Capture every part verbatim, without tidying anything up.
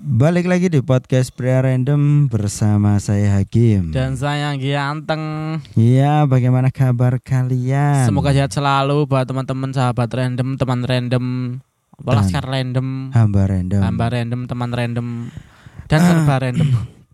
Balik lagi di podcast Pria Random bersama saya Hakim dan saya Ganteng. Iya, bagaimana kabar kalian? Semoga sehat selalu buat teman-teman sahabat random, teman random, laskar random, hamba random, hamba random, teman random, dan serba random.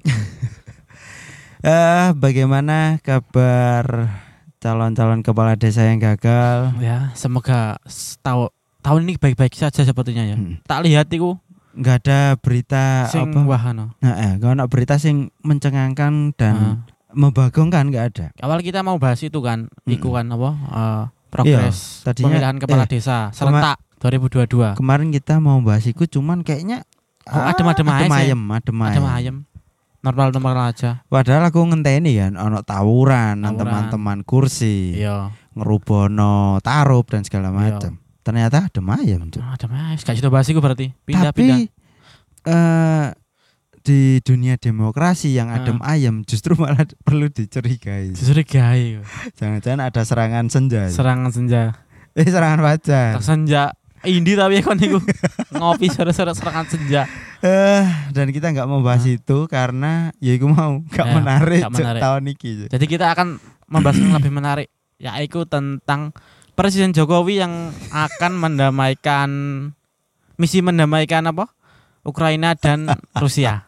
Eh, uh, bagaimana kabar calon-calon kepala desa yang gagal? Ya, semoga tahu tahun ini baik-baik saja sepertinya ya. Hmm. Tak lihat itu nggak ada berita sing apa? Wahana. Nah, eh, kalau nak berita sing mencengangkan dan uh. membagongkan nggak ada. Awal kita mau bahas itu kan, hmm. iku kan apa? Uh, progres iya, pemilihan kepala eh, desa serentak kema- dua ribu dua puluh dua. Kemarin kita mau bahas itu, cuman kayaknya oh, ah, adem-adem adem aja. Adem adem adem ayem. Normal-normal aja. Padahal aku ngenteni kan, ono tawuran, tawuran. teman-teman kursi, iya. ngerubono tarup dan segala macam. Ternyata adem ayem. Oh, adem ayem. Gak situ bahas iku berarti. Pindah, Tapi pindah. Uh, di dunia demokrasi yang adem uh. ayem justru malah perlu dicurigai. Dicurigai. Jangan-jangan ada serangan senja. Serangan senja. Eh serangan fajar. Senja. Indi tapi kon niku ngopi sore-sore serangan senja. Eh uh, dan kita enggak mau bahas uh. itu karena ya iku mau enggak ya, menarik, menarik. tahun iki. Jadi kita akan membahas yang lebih menarik, yaitu tentang Presiden Jokowi yang akan mendamaikan misi mendamaikan apa? Ukraina dan Rusia.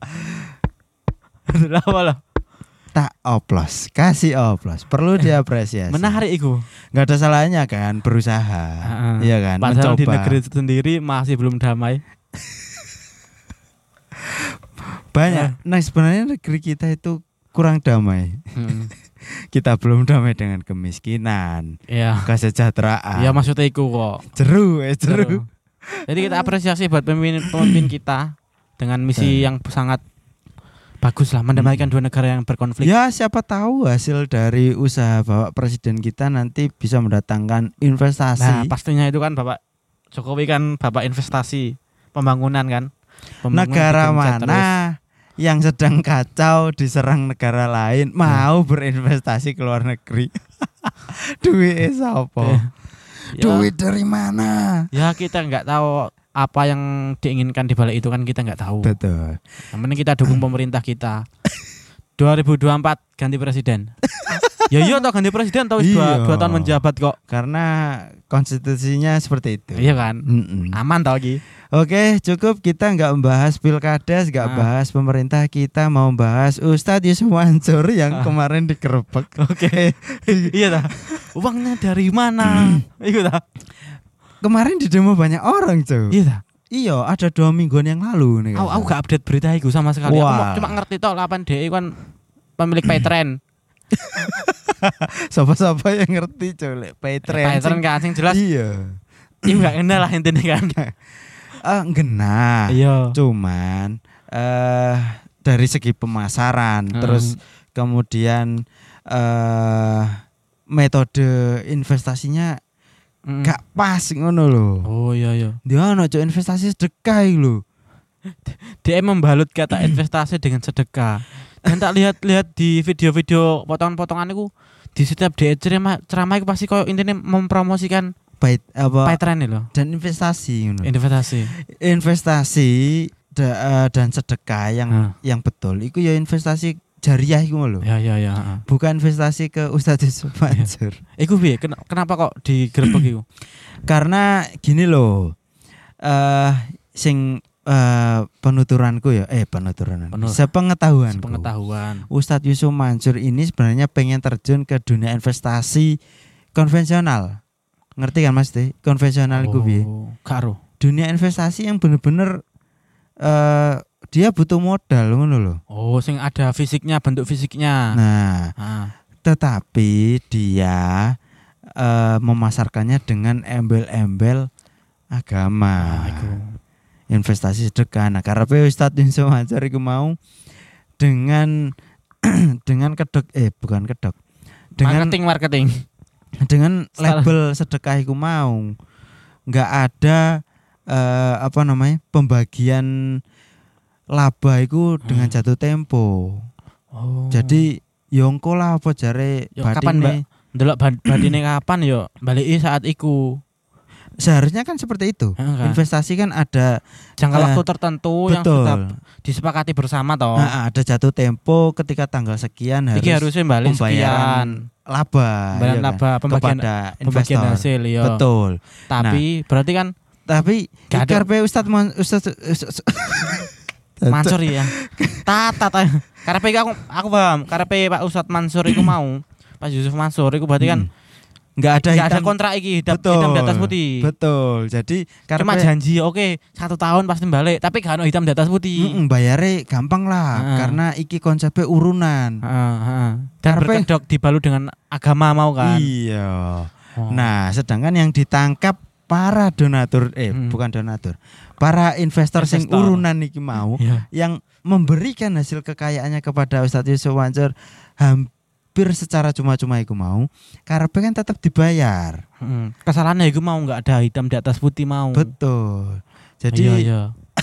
Apa loh? Tak oplos, kasih oplos. Perlu diapresiasi. Menarik itu. Enggak ada salahnya kan berusaha. Uh-uh. Iya kan? Padahal mencoba. Di negeri sendiri masih belum damai. Banyak. Nah, sebenarnya negeri kita itu kurang damai. Hmm. Kita belum damai dengan kemiskinan, ya. kesejahteraan. Ya maksudnya itu kok. Jeru, eh jeru. jeru. Jadi kita apresiasi buat pemimpin-pemimpin kita dengan misi yang sangat bagus lah, mendamaikan hmm. dua negara yang berkonflik. Ya siapa tahu hasil dari usaha Bapak Presiden kita nanti bisa mendatangkan investasi. Nah pastinya itu kan Bapak Jokowi kan Bapak investasi pembangunan kan. Pembangunan negara mana terus. Yang sedang kacau diserang negara lain mau berinvestasi ke luar negeri. Duit siapa? Ya. Duit dari mana? Ya kita nggak tahu apa yang diinginkan di balik itu kan kita nggak tahu. Betul. Yang penting kita dukung pemerintah kita. dua ribu dua puluh empat ganti presiden. Ya iya toh ganti presiden tahu dua, dua tahun menjabat kok. Karena konstitusinya seperti itu. Iya kan? Mm-mm. Aman tau lagi. Oke, cukup kita nggak membahas pilkades, nggak nah. bahas pemerintah, kita mau bahas Ustadz Yusuf Mansur yang ah. kemarin digerebek. Oke, iya dah. Uangnya dari mana? Iya dah. Kemarin di demo banyak orang cuy. Iya dah. Iya, ada dua mingguan yang lalu nih. Aku, aku gak update berita itu sama sekali. Wah. Aku cuma ngerti toh delapan D kan pemilik Paytren. Siapa-siapa yang ngerti cuy Paytren. Paytren kan sing jelas. Iya. Iya gak kenal lah intinya kan. Ah, uh, genah. Iya. Cuman eh uh, dari segi pemasaran, hmm. terus kemudian eh uh, metode investasinya hmm. gak pas ngono lho. Oh iya iya. Dia ono cuk investasi sedekah lho. Dia membalut kata investasi dengan sedekah. Dan tak lihat-lihat di video-video potongan-potongan itu di setiap dia ceramah ceramah itu pasti koyo intine mempromosikan Pait apa Paytren lho dan investasi ngono. Investasi. Investasi da, uh, dan sedekah yang hmm. yang betul iku ya investasi jariah iku lho. Ya ya ya. Bukan investasi ke Ustadz Yusuf Mansur. Ya. Iku piye? Kenapa kok digerebek iku? Karena gini loh. Eh uh, sing uh, penuturanku ya eh penuturan. Penur. Sepengetahuanku. Sepengetahuan. Ustadz Yusuf Mansur ini sebenarnya pengen terjun ke dunia investasi konvensional. Ngerti kan Mas Teh? Konvensional iku piye? Oh, karo. Dunia investasi yang bener-bener uh, dia butuh modal ngono lho. Oh, sing ada fisiknya, bentuk fisiknya. Nah, ah. tetapi dia uh, memasarkannya dengan embel-embel agama. Nah, investasi sedekah. Nah, karepe Ustadz Yusuf Mansur iku mau dengan dengan kedok eh bukan kedok. Dengan marketing marketing. Dengan label sedekah iku mau enggak ada uh, apa namanya? Pembagian laba iku dengan jatuh tempo. Oh. Jadi yo engko lah apa jare batine. Kapan ndelok batine kapan yo baliki saat iku. seharusnya kan seperti itu. Enggak. Investasi kan ada Jangka eh, waktu tertentu yang betul. sudah disepakati bersama toh. Nah, ada jatuh tempo ketika tanggal sekian harus Iki harusnya balik pembayaran sekian. laba, Pembayaran ya kan? laba, pembagian kepada pembagian investor. hasil ya. Betul. Tapi berarti kan Tapi Gak ada- karpe Ustadz Man, Ustadz Ustadz- Mansur ya. Tata ta. Karepe aku aku paham. Karepe Pak Ustadz Mansur iku mau. Pak Yusuf Mansur iku berarti kan Hmm. nggak ada nggak ada hitam, kontrak iki hitam, betul, hitam di atas putih. Betul. Jadi Cuma karpe janji oke satu tahun pasti balik tapi gak ono hitam di atas putih. mm, bayare gampang lah Heeh. karena iki konsepnya urunan. Heeh, heeh. Dan Karepe- berkedok dibalut dengan agama mau kan. Iya. Oh. Nah, sedangkan yang ditangkap para donatur eh Hmm. bukan donatur. Para investor sing Investor. urunan iki mau Iya. yang memberikan hasil kekayaannya kepada Ustadz Yusuf Mansur hampir secara cuma-cuma iku mau karepe kan tetap dibayar. Heeh. Kesalahannya iku mau nggak ada hitam di atas putih mau. Betul. Jadi Iya, iya.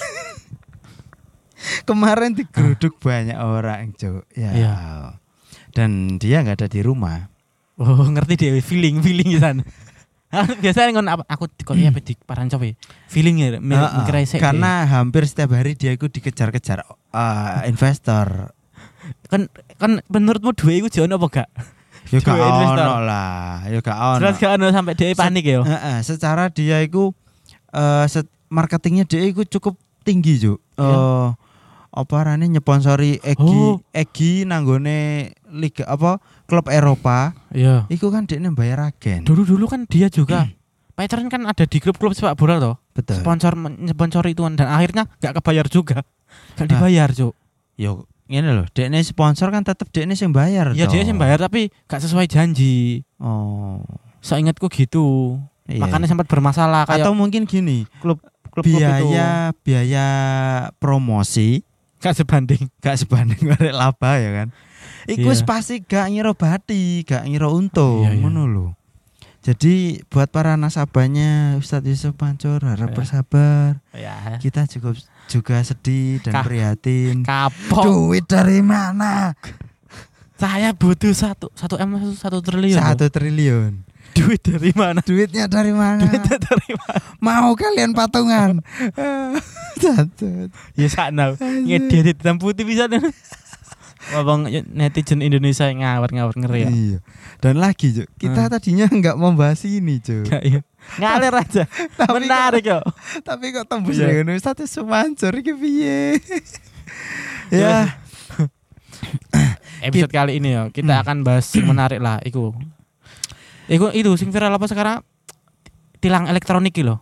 kemarin digeruduk banyak orang, Cuk. Ya. Iya. Dan dia nggak ada di rumah. Oh, ngerti deh feeling feeling di sana. Biasanya ngon apa aku kok iya di parancop ya. Feeling ya mi- Heeh, mikir ae sik deh. karena hampir setiap hari dia itu dikejar-kejar uh, investor. kan kan menurutmu dua iku jono apa gak? Ya gak Duwe investor. ono lah, ya gak ono. Jelas gak ono sampai dia panik ya. Heeh, secara dia itu eh set- marketingnya dia itu cukup tinggi, Juk. Eh Iya. apa arane nyponsori Egi, Oh. Egi nanggone liga apa klub Eropa. Iya. Iku kan dia bayar agen. Dulu-dulu kan dia juga pacaran kan ada di klub-klub sepak bola toh. Betul. Sponsor sponsori itu dan akhirnya gak kebayar juga. Gak Ah. dibayar, Cuk. Yo ngene loh, dekne sponsor kan tetep dekne sing bayar. Ya toh. dia sih bayar tapi gak sesuai janji. Oh. Seingatku gitu. Iya. Makanya sempat bermasalah kayak Atau mungkin gini, klub klub itu biaya biaya promosi gak sebanding. gak sebanding arek laba ya kan. Iku wis Iya. pasti gak ngira bati, gak ngira untung, Iya, iya. ngono lho. Jadi buat para nasabahnya Ustadz Yusuf Mansur harap Iya. bersabar. Ya. Kita juga juga sedih dan Ka- prihatin. Kapok. Duit dari mana? Saya butuh satu satu m satu, satu triliun. Satu triliun. Duit dari mana? Duitnya dari mana? Duitnya dari mana? Mau kalian patungan? Satu. Ya sana. Ngedit hitam putih bisa nih. Abang netizen Indonesia yang ngawur-ngawur ngeri ya. Iya. Dan lagi, Cuk, kita Hmm. tadinya nggak membahas ini, Cuk. Gak, iya. Ngalir aja. Tapi Menarik yo. Tapi kok tembus Iya. dengan Ustadz Yusuf Mansur iki piye? Ya, Episode kali ini yo kita akan bahas yang menarik lah iku. Iku itu sing viral apa sekarang? Tilang elektronik iki lho.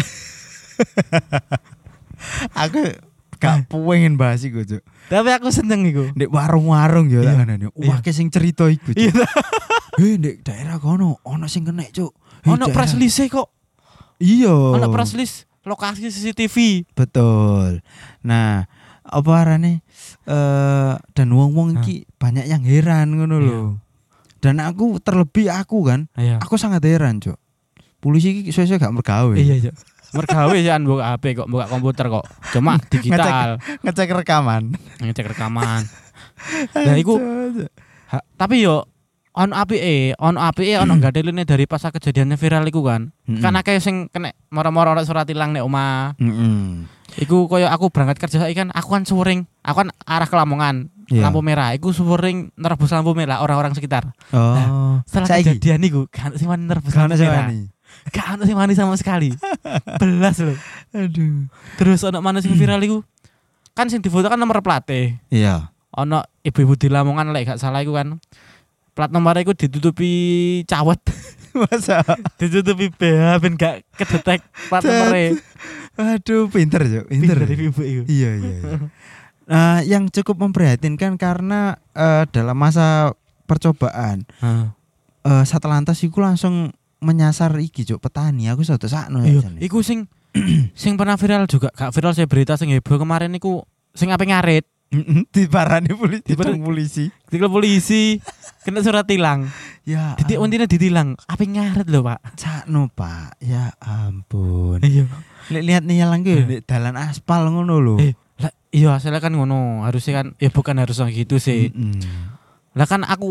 aku gak pengen bahas iku, Cuk. Tapi aku seneng iku. Ndek warung-warung ya Iya. tak ngene. Wake sing cerita iku, Cuk. Iya. Eh, ndek daerah kono ono sing kena, Cuk. Eh, Ono daerah- press list kok. Iya. Ono press list lokasi C C T V. Betul. Nah, apa arane eh dan wong-wong iki banyak yang heran ngono Iya. lho. Dan aku terlebih aku kan, Iya. aku sangat heran, Cuk. Polisi iki suwe-suwe gak mergawe. Iya, Cok. Mergawe ya buka H P kok, buka komputer kok. Cuma digital, Ngecek rekaman. ngecek rekaman. Nah, iku ha- tapi yo ono apike, ono apike ono gadeline dari pas kejadiannya viral iku kan. Mm-mm. Kan akeh sing kena moro-moro ono surat tilang nek omah. Mm-mm. Iku koyo aku berangkat kerja saiki kan, aku kan suring, aku kan arah ke Lamongan, Iya. lampu merah. Iku suring nerobos lampu merah orang-orang sekitar. Oh. Setelah Saiki? kejadian iku, kan sing wani nerobos Gak ono lampu sing merah. wani. Gak ono sing wani sama sekali. Belas loh. Aduh. Terus ono mana sing viral iku? Kan sing difoto kan nomor plate. Iya. Ono ibu-ibu di Lamongan lek gak salah iku kan. Plat nomor iku ditutupi cawet, Masa? ditutupi B H ben gak kedetek plat nomore. Aduh, pinter, Cuk. Pinter. Pinter ibu iku. Iya, iya. iya. Nah, yang cukup memprihatinkan karena eh, dalam masa percobaan Heeh. eh, Satlantas iku langsung menyasar iki, Cuk, petani. Aku sudah sakno Iya, ya. iku sing sing pernah viral juga, gak viral saya berita sing heboh kemarin iku sing ape ngarit Diparani polisi, Diparani- ditang polisi. ditilang polisi kena surat tilang. Ya, Titik untine ditilang, ape ngarit lho, Pak. sakno, Pak. Ya ampun. Iya. Lihat lihat nih yang lagi di dalan aspal ngono lho. Eh, lah iya hasilnya kan ngono, harusnya kan ya bukan harus gitu sih. Mm-mm. Lah kan aku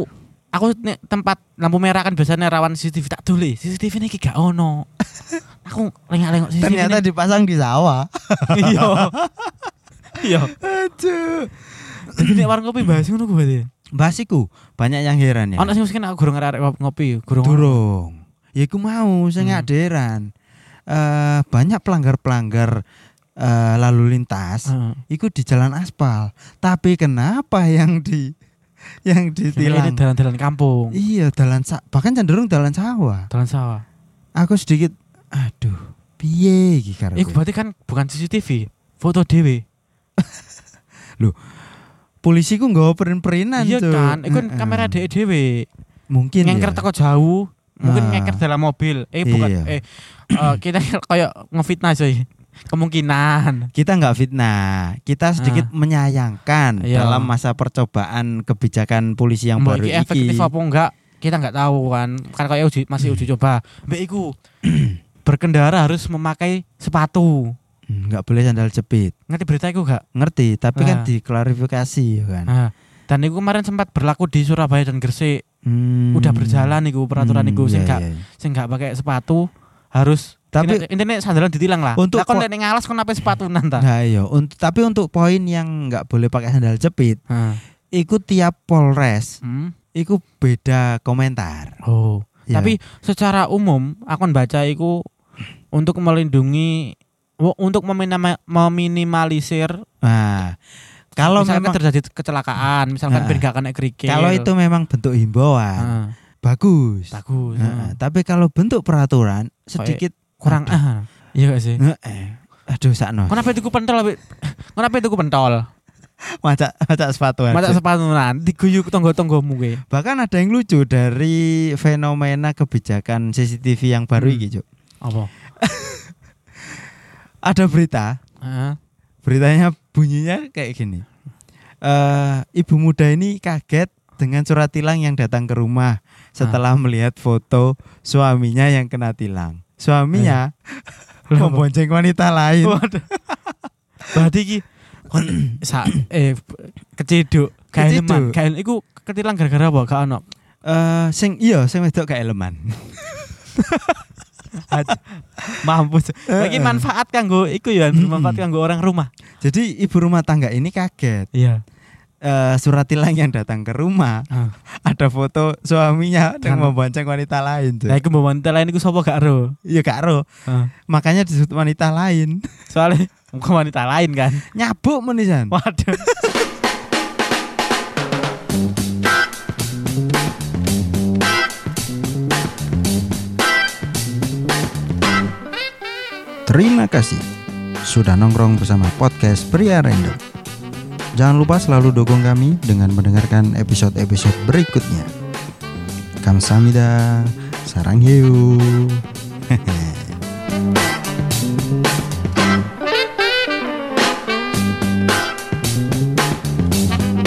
aku nek tempat lampu merah kan biasanya rawan C C T V tak dole. C C T V ini gak ono. Aku lengak-lengok C C T V. Ternyata ini. dipasang di sawah. Iya. Iya. Aduh. Jadi nek warung kopi bahas ngono ku berarti. Basiku banyak yang heran ya. Ono sing mesti aku gurung arek ngopi, gurung. Durung. Ya iku mau sing Hmm. aderan. Eh banyak pelanggar-pelanggar eh, lalu lintas. Heeh. Iku di jalan aspal. Tapi kenapa yang di yang Ini ditilang? dalan-dalan kampung, Iya, dalan sa- bahkan cenderung dalan sawah. dalan sawah. Aku sedikit aduh, piye iki karo. Iku berarti kan bukan C C T V, foto dhewe. Polisi ku nggawa perin-perinan Iya Cuk. kan, iku kan Heeh. kamera dhewe dhewe. Mungkin Ngeker ya. teko jauh, mungkin Ah. ngeker dalam mobil. Eh bukan Iya. eh eh, kita kayak ngefitnah sih. Kemungkinan. Kita nggak fitnah, kita sedikit menyayangkan Iya. dalam masa percobaan kebijakan polisi yang Mbak baru iki efektif iki. apa enggak? Kita enggak tahu kan. Kan kayak uji masih uji coba. Mbak iku berkendara harus memakai sepatu. Hmm, nggak boleh sandal jepit. Ngerti berita iku enggak? Ngerti, tapi kan Ah. diklarifikasi ya kan. Nah, dan itu kemarin sempat berlaku di Surabaya dan Gresik. Hmm. Udah berjalan iku peraturan Hmm, iku sing iya, enggak iya. sing enggak pakai sepatu harus Tapi- intinya sandalan ditilang lah. Untuk Lah kon po- nek ngalas kon apa sepatunan ta? Nah iya, untuk tapi untuk poin yang nggak boleh pakai sandal jepit, Heeh. iku tiap Polres, Hmm. iku beda komentar. Oh. Ya. Tapi secara umum aku baca iku untuk melindungi wo- untuk meminima- meminimalisir Nah, kalau misalkan memang terjadi kecelakaan, misalkan Nah, ben gak kena kerikil. kalau itu memang bentuk himbauan, Heeh, bagus. bagus. Nah, heeh. tapi kalau bentuk peraturan sedikit Kurang aduh. ah. Iya gak sih? Heeh. Aduh sakno. Kenapa itu ku pentol? Abi? Kenapa itu ku pentol? Macak macak sepatu aja. Masa sepatunan diguyuk tonggo-tonggomu gue. Bahkan ada yang lucu dari fenomena kebijakan C C T V yang baru Hmm. iki, Cuk. Apa? Ada berita, Heeh. beritanya bunyinya kayak gini. Eh, ibu muda ini kaget dengan surat tilang yang datang ke rumah setelah melihat foto suaminya yang kena tilang. Suaminya membonceng wanita lain. Waduh. Berarti iki kon sa eh keciduk, kaeleman. Keciduk. Kael iku ketilang gara-gara apa? Gak ono. Eh, sing iya sing wedok gak eleman. Mampus. Lagi manfaat kanggo iku ya, bermanfaat kanggo orang rumah. Jadi ibu rumah tangga ini kaget. Iya. Eh, surat tilang yang datang ke rumah Ah. ada foto suaminya yang Kan. membonceng wanita lain. Cuk. Lah iku mbok wanita lain iku sapa gak ero? Iya gak ero. Ah. Makanya disebut wanita lain. Soalnya bukan wanita lain kan. Nyabuk menisan. Waduh. Terima kasih sudah nongkrong bersama podcast Pria Random. Jangan lupa selalu dukung kami dengan mendengarkan episode-episode berikutnya. Kamsahamnida, sarang hiu.